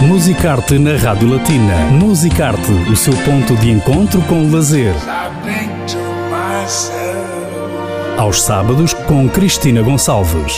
Musicarte na Rádio Latina. Musicarte, o seu ponto de encontro com o lazer. Aos sábados, com Cristina Gonçalves.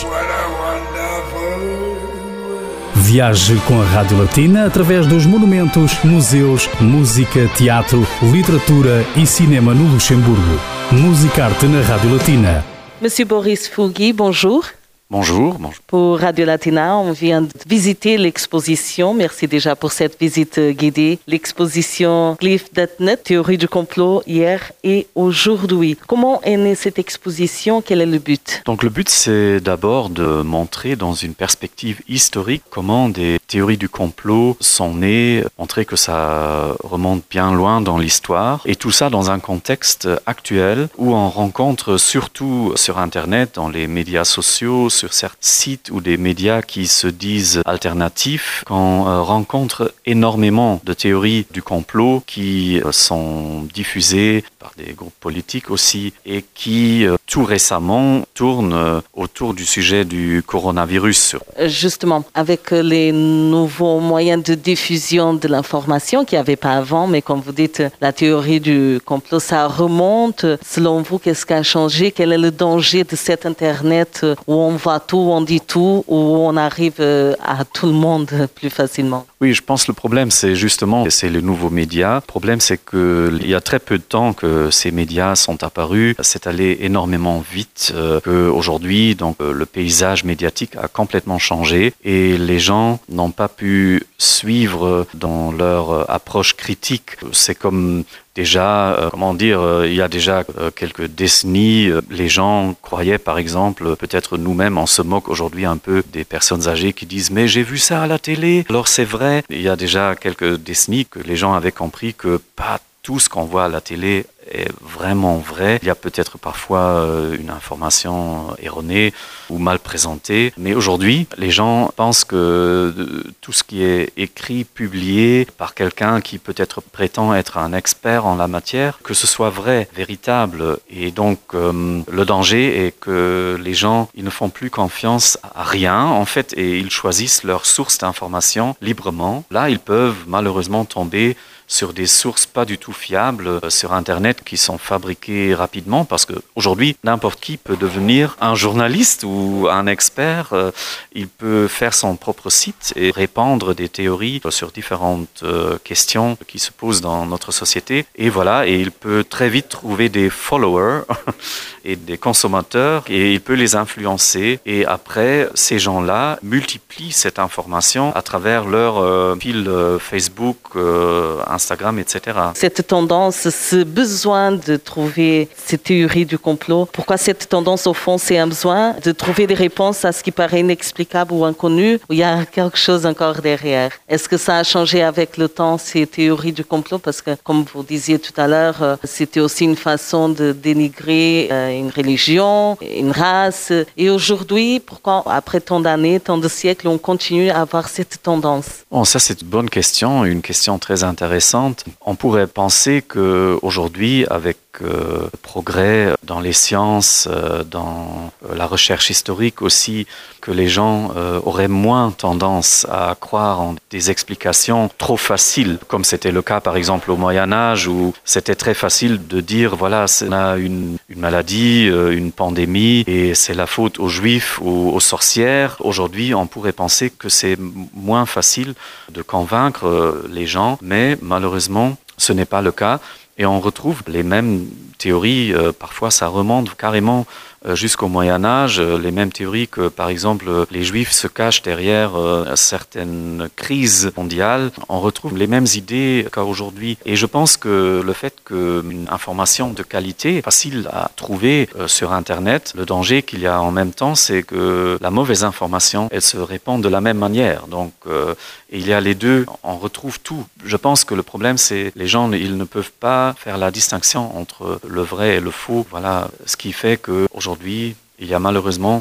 Viaje com a Rádio Latina através dos monumentos, museus, música, teatro, literatura e cinema no Luxemburgo. Musicarte na Rádio Latina. Monsieur Boris Fougui, bonjour. Bonjour. Pour Radio Latina, on vient de visiter l'exposition. Merci déjà pour cette visite guidée. L'exposition Glyph.net, théorie du complot, hier et aujourd'hui. Comment est née cette exposition? Quel est le but? Donc le but, c'est d'abord de montrer dans une perspective historique comment des théories du complot sont nées, montrer que ça remonte bien loin dans l'histoire, et tout ça dans un contexte actuel où on rencontre surtout sur Internet, dans les médias sociaux, sur certains sites ou des médias qui se disent alternatifs, qu'on rencontre énormément de théories du complot qui sont diffusées par des groupes politiques aussi et qui tout récemment tournent autour du sujet du coronavirus. Justement, avec les nouveaux moyens de diffusion de l'information qu'il n'y avait pas avant, mais comme vous dites, la théorie du complot, ça remonte. Selon vous, qu'est-ce qui a changé? Quel est le danger de cet Internet où on voit tout, on dit tout, où on arrive à tout le monde plus facilement? Oui, je pense que le problème, c'est les nouveaux médias. Le problème, c'est qu'il y a très peu de temps que ces médias sont apparus. C'est allé énormément vite. Qu'aujourd'hui, donc, le paysage médiatique a complètement changé et les gens n'ont pas pu suivre dans leur approche critique. C'est comme déjà, il y a déjà quelques décennies, les gens croyaient, par exemple, peut-être nous-mêmes, on se moque aujourd'hui un peu des personnes âgées qui disent « mais j'ai vu ça à la télé ». Alors c'est vrai, il y a déjà quelques décennies que les gens avaient compris que pas tout ce qu'on voit à la télé est vraiment vrai. Il y a peut-être parfois une information erronée ou mal présentée. Mais aujourd'hui, les gens pensent que tout ce qui est écrit, publié par quelqu'un qui peut-être prétend être un expert en la matière, que ce soit vrai, véritable. Et donc, le danger est que les gens, ils ne font plus confiance à rien, en fait, et ils choisissent leur source d'information librement. Là, ils peuvent malheureusement tomber sur des sources pas du tout fiables sur Internet qui sont fabriquées rapidement parce qu'aujourd'hui, n'importe qui peut devenir un journaliste ou un expert. Il peut faire son propre site et répandre des théories sur différentes questions qui se posent dans notre société. Et voilà, et il peut très vite trouver des followers et des consommateurs et il peut les influencer. Et après, ces gens-là multiplient cette information à travers leur fil Facebook, Instagram, etc. Cette tendance, ce besoin de trouver ces théories du complot, pourquoi cette tendance, au fond, c'est un besoin de trouver des réponses à ce qui paraît inexplicable ou inconnu, où il y a quelque chose encore derrière? Est-ce que ça a changé avec le temps, ces théories du complot? Parce que, comme vous disiez tout à l'heure, c'était aussi une façon de dénigrer une religion, une race. Et aujourd'hui, pourquoi, après tant d'années, tant de siècles, on continue à avoir cette tendance? Bon, ça, c'est une bonne question, une question très intéressante. On pourrait penser qu'aujourd'hui, avec le progrès dans les sciences, dans la recherche historique aussi, que les gens auraient moins tendance à croire en des explications trop faciles, comme c'était le cas par exemple au Moyen-Âge, où c'était très facile de dire, voilà, on a une maladie, une pandémie, et c'est la faute aux Juifs ou aux sorcières. Aujourd'hui, on pourrait penser que c'est moins facile de convaincre les gens, mais malheureusement, ce n'est pas le cas. Et on retrouve les mêmes théories, parfois ça remonte carrément jusqu'au Moyen-Âge, les mêmes théories que, par exemple, les Juifs se cachent derrière certaines crises mondiales. On retrouve les mêmes idées qu'aujourd'hui. Et je pense que le fait qu'une information de qualité est facile à trouver sur Internet, le danger qu'il y a en même temps, c'est que la mauvaise information, elle se répand de la même manière. Donc, il y a les deux, on retrouve tout. Je pense que le problème, c'est les gens, ils ne peuvent pas faire la distinction entre le vrai et le faux. Voilà, ce qui fait qu'aujourd'hui, il y a malheureusement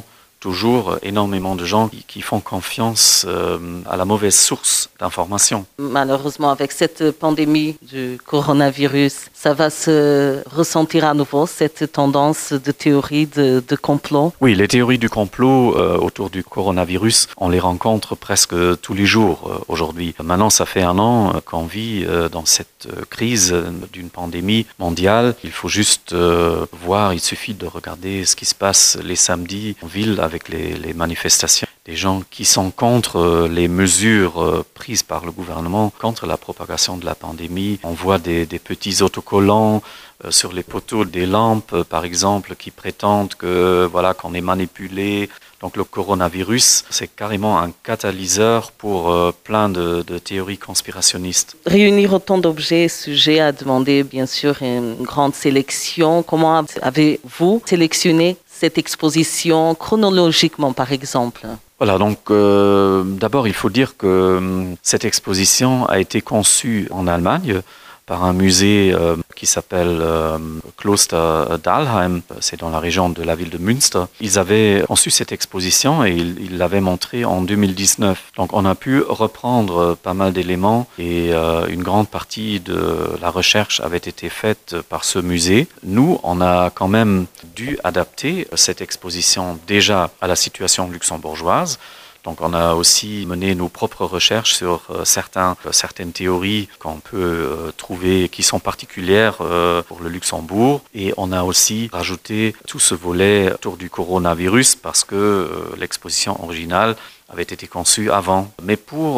toujours énormément de gens qui font confiance à la mauvaise source d'information. Malheureusement, avec cette pandémie du coronavirus, ça va se ressentir à nouveau, cette tendance de théorie de complot. Oui, les théories du complot autour du coronavirus, on les rencontre presque tous les jours aujourd'hui. Maintenant, ça fait 1 an qu'on vit dans cette crise d'une pandémie mondiale. Il faut juste voir, il suffit de regarder ce qui se passe les samedis en ville avec les manifestations. Des gens qui sont contre les mesures prises par le gouvernement, contre la propagation de la pandémie. On voit des petits autocollants sur les poteaux des lampes, par exemple, qui prétendent qu'on est manipulé. Donc le coronavirus, c'est carrément un catalyseur pour plein de théories conspirationnistes. Réunir autant d'objets et sujets a demandé bien sûr une grande sélection. Comment avez-vous sélectionné cette exposition chronologiquement, par exemple ? Voilà, donc d'abord il faut dire que cette exposition a été conçue en Allemagne par un musée qui s'appelle Kloster Dahlheim, c'est dans la région de la ville de Münster. Ils avaient conçu cette exposition et ils l'avaient montrée en 2019. Donc on a pu reprendre pas mal d'éléments et une grande partie de la recherche avait été faite par ce musée. Nous, on a quand même dû adapter cette exposition déjà à la situation luxembourgeoise. Donc on a aussi mené nos propres recherches sur certaines théories qu'on peut trouver qui sont particulières pour le Luxembourg. Et on a aussi rajouté tout ce volet autour du coronavirus parce que l'exposition originale avait été conçue avant. Mais pour,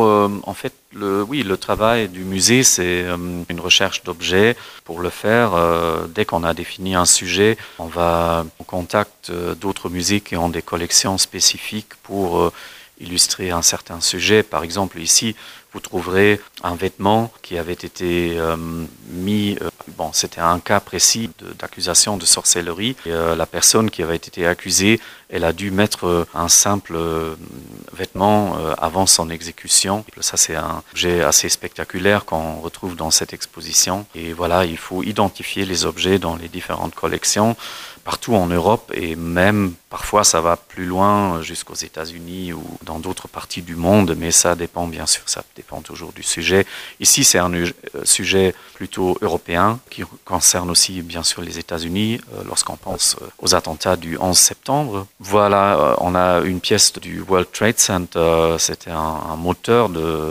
le travail du musée, c'est une recherche d'objets. Pour le faire, dès qu'on a défini un sujet, on va en contact d'autres musées qui ont des collections spécifiques pour illustrer un certain sujet. Par exemple, ici, vous trouverez un vêtement qui avait été mis, c'était un cas précis d'accusation de sorcellerie. Et, la personne qui avait été accusée, elle a dû mettre un simple vêtement avant son exécution. Ça, c'est un objet assez spectaculaire qu'on retrouve dans cette exposition. Et voilà, il faut identifier les objets dans les différentes collections partout en Europe et même parfois ça va plus loin jusqu'aux États-Unis ou dans d'autres parties du monde, mais ça dépend bien sûr, ça dépend toujours du sujet. Ici c'est un sujet plutôt européen qui concerne aussi bien sûr les États-Unis lorsqu'on pense aux attentats du 11 septembre. Voilà, on a une pièce du World Trade Center, c'était un moteur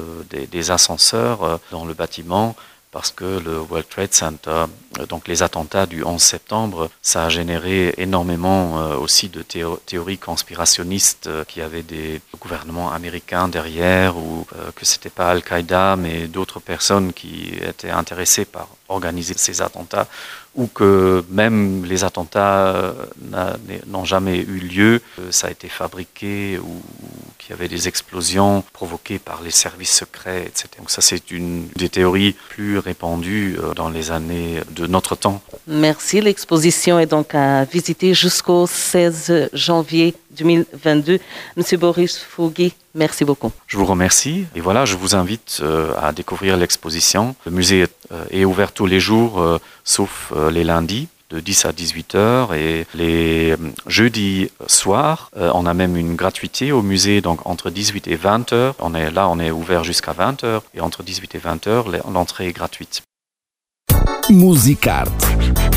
des ascenseurs dans le bâtiment. Parce que le World Trade Center, donc les attentats du 11 septembre, ça a généré énormément aussi de théories conspirationnistes qui avaient des gouvernements américains derrière ou que c'était pas Al-Qaïda mais d'autres personnes qui étaient intéressées par organiser ces attentats ou que même les attentats n'ont jamais eu lieu, ça a été fabriqué ou qu'il y avait des explosions provoquées par les services secrets, etc. Donc ça, c'est une des théories plus répandues dans les années de notre temps. Merci. L'exposition est donc à visiter jusqu'au 16 janvier 2022. Monsieur Boris Fougui, merci beaucoup. Je vous remercie. Et voilà, je vous invite à découvrir l'exposition. Le musée est ouvert tous les jours, sauf les lundis, de 10 à 18h. Et les jeudis soirs, on a même une gratuité au musée, donc entre 18 et 20h. On est ouvert jusqu'à 20h. Et entre 18 et 20h, l'entrée est gratuite. Musicarte.